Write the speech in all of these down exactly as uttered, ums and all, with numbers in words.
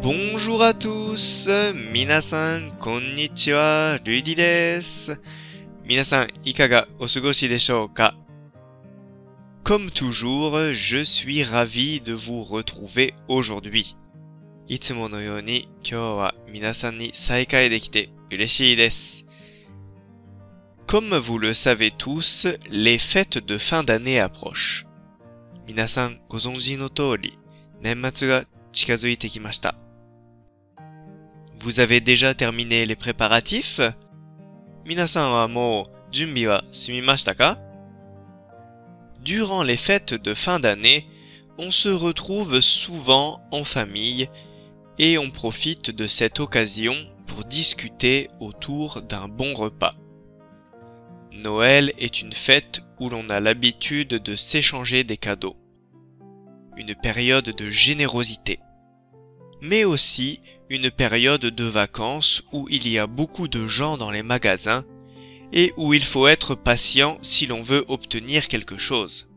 Bonjour à tous! 皆さん、こんにちは。ルイディです。皆さん、いかがお過ごしでしょうか? Comme toujours, je suis ravi de vous retrouver aujourd'hui. いつものように、今日は皆さんに再会できて嬉しいです。Comme vous le savez tous, les fêtes de fin d'année approchent. 皆さんご存知の通り、年末が近づいてきました。Vous avez déjà terminé les préparatifs? 皆さんはもう準備は済みましたか? Durant les fêtes de fin d'année, on se retrouve souvent en famille et on profite de cette occasion pour discuter autour d'un bon repas. Noël est une fête où l'on a l'habitude de s'échanger des cadeaux. Une période de générosité. Mais aussi une période de vacances où il y a beaucoup de gens dans les magasins et où il faut être patient si l'on veut obtenir quelque chose.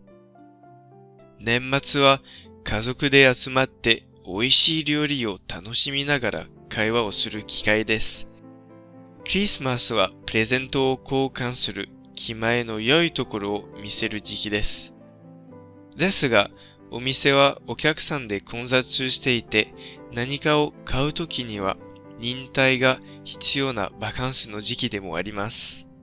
年末は家族で集まって美味しい料理を楽しみながら会話をする機会です。クリスマスはプレゼントを交換する気前の良いところを見せる時期です。ですが、お店はお客さんで混雑していて、何かを買うときには忍耐が必要なバカンスの時期でもあります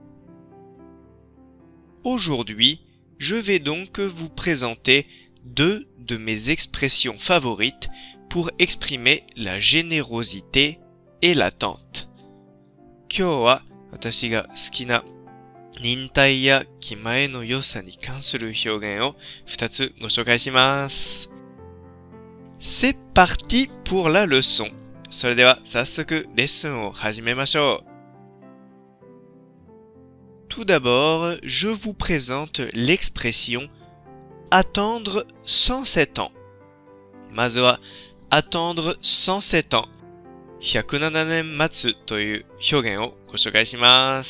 。Aujourd'hui, je vais donc vous présenter deux de mes expressions favorites pour exprimer la générosité et l'attente. 今日は私が好きな忍耐や気前の良さに関する表現を二つご紹介します。C'est parti pour la leçon. それでは早速レッスンを始めましょう。Tout d'abord, je vous présente l'expression attendre cent sept ans. まずは attendre cent sept ans. ひゃくななねん待つという表現をご紹介します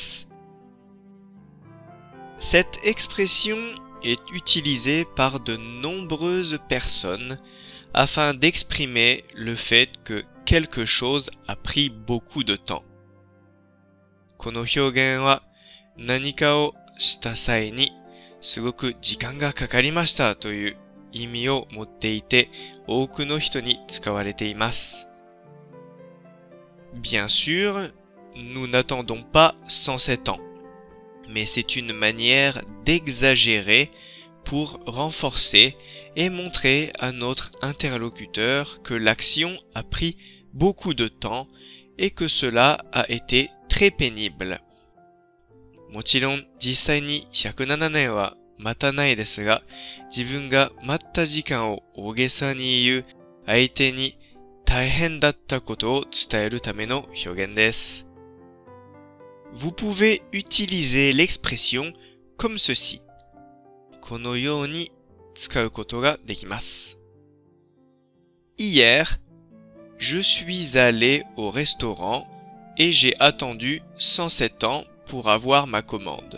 。Cette expression est utilisée par de nombreuses personnes afin d'exprimer le fait que quelque chose a pris beaucoup de temps. この表現は何かをした際にすごく時間がかかりましたという意味を持っていて多くの人に使われています。Bien sûr, nous n'attendons pas cent sept ans. Mais c'est une manière d'exagérer pour renforcer et montrer à notre interlocuteur que l'action a pris beaucoup de temps et que cela a été très pénible. もちろん実際にひゃくななねんは待たないですが、自分が待った時間を大げさに言う相手に大変だったことを伝えるための表現です。Vous pouvez utiliser l'expression comme ceci. このように使うことができます。Hier, je suis allé au restaurant et j'ai attendu cent sept ans pour avoir ma commande.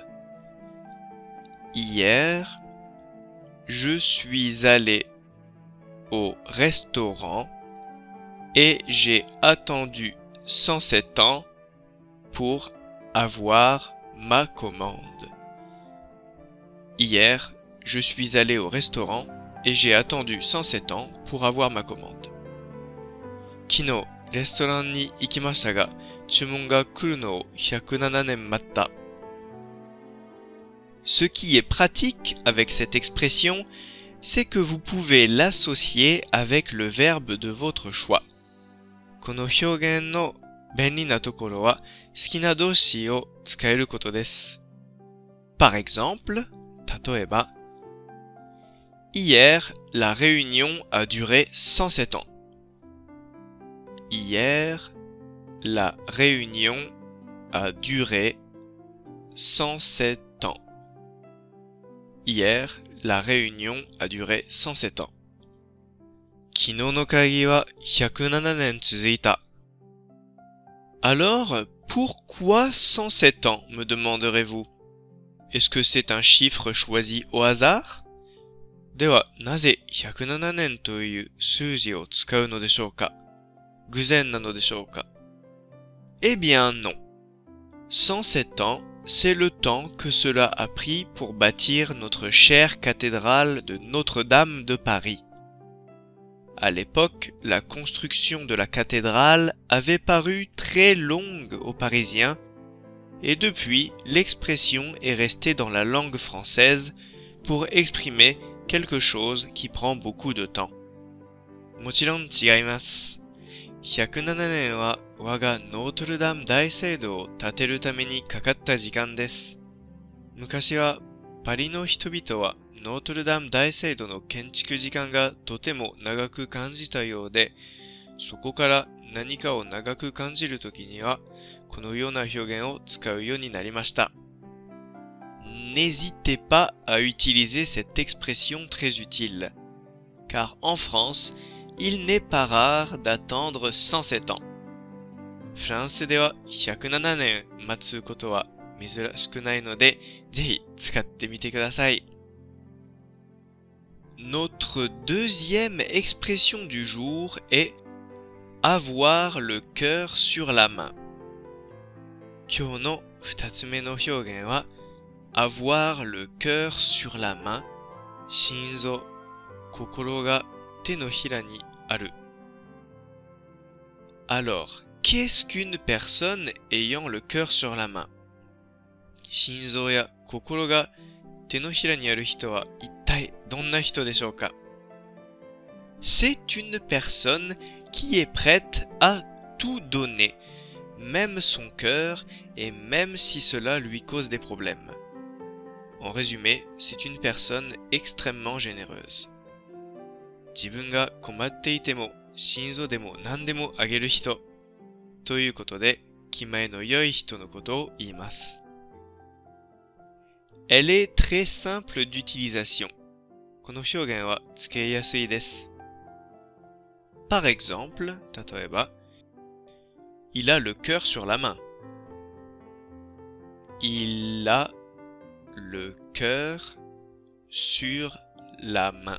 Hier, je suis allé au restaurant et j'ai attendu cent sept ans pour avoir ma commande. Hier, je suis allé au restaurant et j'ai attendu cent sept ans pour avoir ma commande. 昨日、レストランに行きましたが、注文が来るのをひゃくななねん待った。Ce qui est pratique avec cette expression, c'est que vous pouvez l'associer avec le verbe de votre choix. この表現の便利なところは好きな動詞を使えることです。Par exemple, 例えば Hier, la réunion a duré cent sept ans. Hier, la réunion a duré cent sept ans. Hier, la réunion a duré cent sept ans. 昨日の会議はひゃくななねん続いた。Alors, pourquoi cent sept ans, me demanderez-vous? Est-ce que c'est un chiffre choisi au hasard? では、なぜひゃくななねんという数字を使うのでしょうか? 偶然なのでしょうか? Eh bien non. cent sept ans, c'est le temps que cela a pris pour bâtir notre chère cathédrale de Notre-Dame de Paris. À l'époque, la construction de la cathédrale avait paru très longue aux Parisiens, et depuis, l'expression est restée dans la langue française pour exprimer quelque chose qui prend beaucoup de temps. もちろん違います。ひゃくななねんは我がノートルダム大聖堂を建てるためにかかった時間です。昔はパリの人々はノートルダム大聖堂の建築時間がとても長く感じたようで、そこから何かを長く感じるときにはこのような表現を使うようになりました。N'hésitez pas à utiliser cette expression très utile, car en France, il n'est pas rare d'attendre cent sept ans. フランスではひゃくななねん待つことは珍しくないので、ぜひ使ってみてください。Notre deuxième expression du jour est avoir le cœur sur la main. 今日の二つ目の表現はavoir le cœur sur la main, 心臓、心が手のひらにある。Alors, qu'est-ce qu'une personne ayant le cœur sur la main? 心臓や心が手のひらにある人は一体どんな人でしょうか? C'est une personne qui est prête à tout donner, même son cœur, et même si cela lui cause des problèmes. En résumé, c'est une personne extrêmement généreuse. 自分が困っていても、心臓でも何でもあげる人。ということで、気前の良い人のことを言います。Elle est très simple d'utilisation. この表現は付けやすいです。Par exemple, 例えば、Il a le cœur sur la main. Il a le cœur sur la main.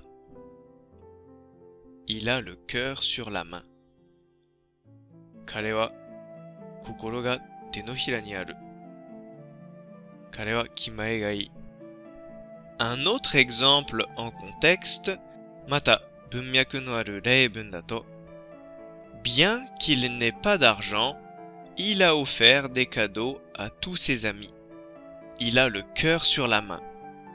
Il a le cœur sur la main. 彼は心が手のひらにある。彼は気前がいい。Un autre exemple en contexte, また文脈のある例文だと、Bien qu'il n'ait pas d'argent, il a offert des cadeaux à tous ses amis. Il a le cœur sur la main.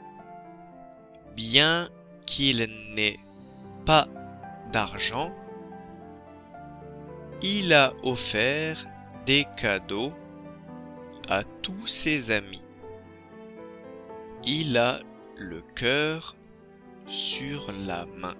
Bien qu'il n'ait pas d'argent, il a offert des cadeaux à tous ses amis. Il a le cœur sur la main.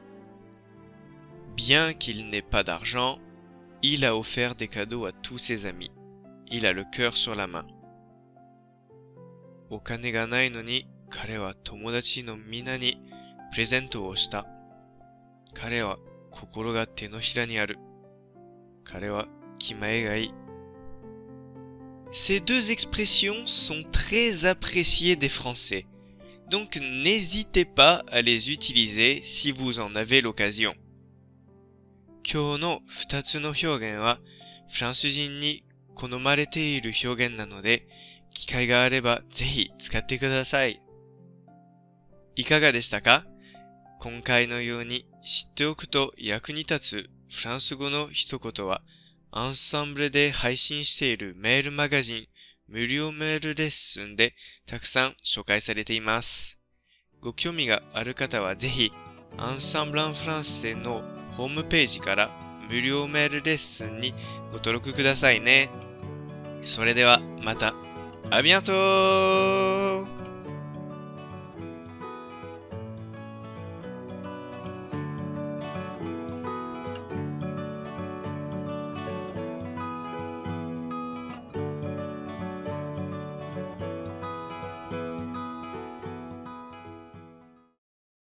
Bien qu'il n'ait pas d'argent, il a offert des cadeaux à tous ses amis. Il a le cœur sur la main. お金がないのに彼は友達のみんなにプレゼントをした。彼は心が手のひらにある。彼は気前がいい。Ces deux expressions sont très appréciées des Français, donc n'hésitez pas à les utiliser si vous en avez l'occasion. 今日の二つの表現はフランス人に好まれている表現なので、機会があればぜひ使ってください。いかがでしたか？今回のように知っておくと役に立つフランス語の一言は、アンサンブルで配信しているメールマガジン、無料メールレッスンでたくさん紹介されています。ご興味がある方はぜひ、アンサンブル・ン・フランセのホームページから無料メールレッスンにご登録くださいね。それではまた。À bientôt!